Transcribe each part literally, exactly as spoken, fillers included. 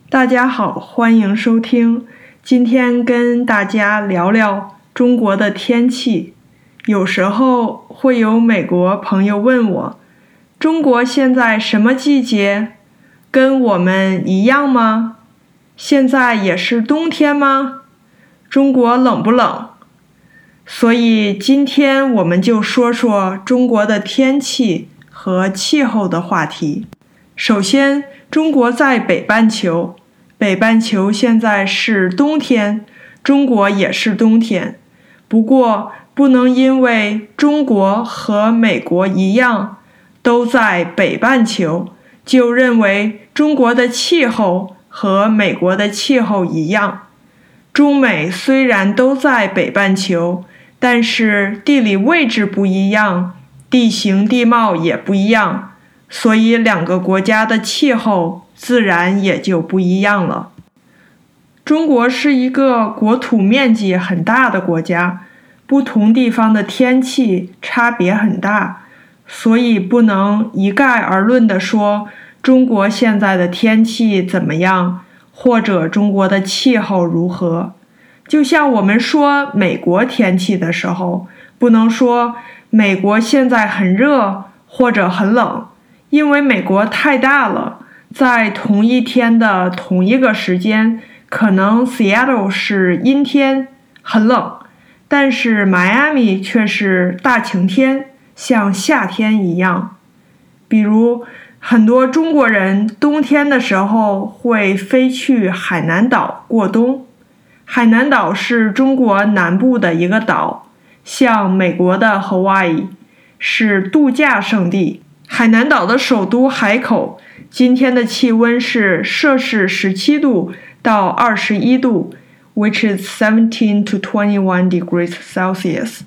大家好，欢迎收听。今天跟大家聊聊中国的天气。有时候会有美国朋友问我，中国现在什么季节？跟我们一样吗？现在也是冬天吗？中国冷不冷？所以今天我们就说说中国的天气和气候的话题。首先，中国在北半球，北半球现在是冬天，中国也是冬天。不过，不能因为中国和美国一样，都在北半球，就认为中国的气候和美国的气候一样。中美虽然都在北半球，但是地理位置不一样，地形地貌也不一样，所以两个国家的气候自然也就不一样了。中国是一个国土面积很大的国家，不同地方的天气差别很大，所以不能一概而论地说中国现在的天气怎么样，或者中国的气候如何。就像我们说美国天气的时候，不能说美国现在很热或者很冷，因为美国太大了，在同一天的同一个时间，可能 Seattle 是阴天，很冷，但是 Miami 却是大晴天，像夏天一样。比如很多中国人冬天的时候会飞去海南岛过冬。海南岛是中国南部的一个岛，像美国的 Hawaii， 是度假胜地。海南岛的首都海口，今天的气温是摄氏十七度到二十一度 ，which is seventeen to twenty-one degrees Celsius，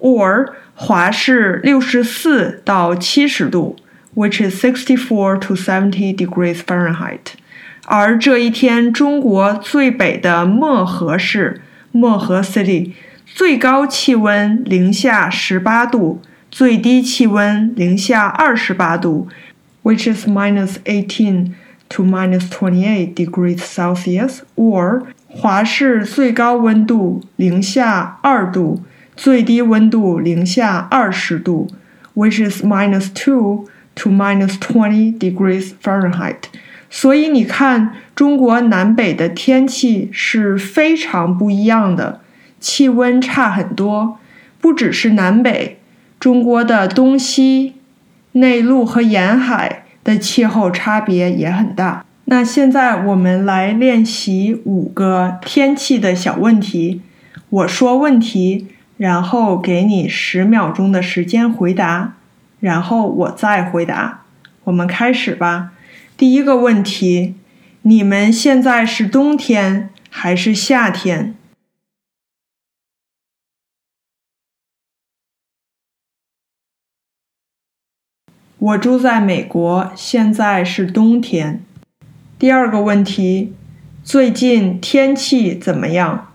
or 华氏六十四到七十度 ，which is sixty-four to seventy degrees Fahrenheit。而这一天，中国最北的漠河市漠河 City 最高气温零下十八度，最低气温零下二十八度 ，which is minus eighteen to minus twenty-eight degrees Celsius， or 华氏最高温度零下二度，最低温度零下二十度 ，which is minus two to minus twenty degrees Fahrenheit。所以你看，中国南北的天气是非常不一样的，气温差很多。不只是南北，中国的东西、内陆和沿海的气候差别也很大。那现在我们来练习五个天气的小问题。我说问题，然后给你十秒钟的时间回答，然后我再回答。我们开始吧。第一个问题，你们现在是冬天还是夏天？我住在美国，现在是冬天。第二个问题，最近天气怎么样？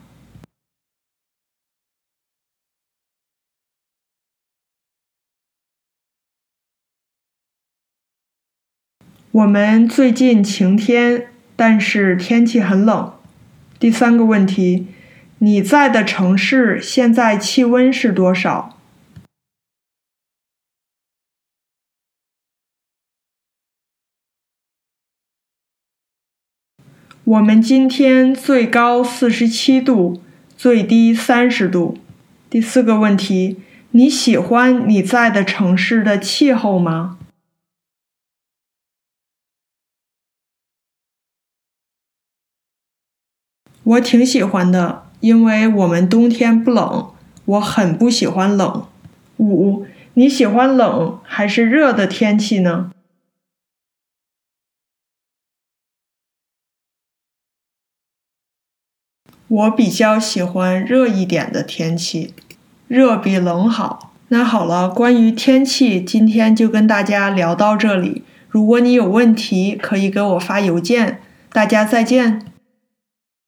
我们最近晴天，但是天气很冷。第三个问题，你在的城市现在气温是多少？我们今天最高四十七度，最低三十度。第四个问题，你喜欢你在的城市的气候吗？我挺喜欢的，因为我们冬天不冷，我很不喜欢冷。五，你喜欢冷还是热的天气呢？我比较喜欢热一点的天气，热比冷好。那好了，关于天气，今天就跟大家聊到这里。如果你有问题，可以给我发邮件。大家再见。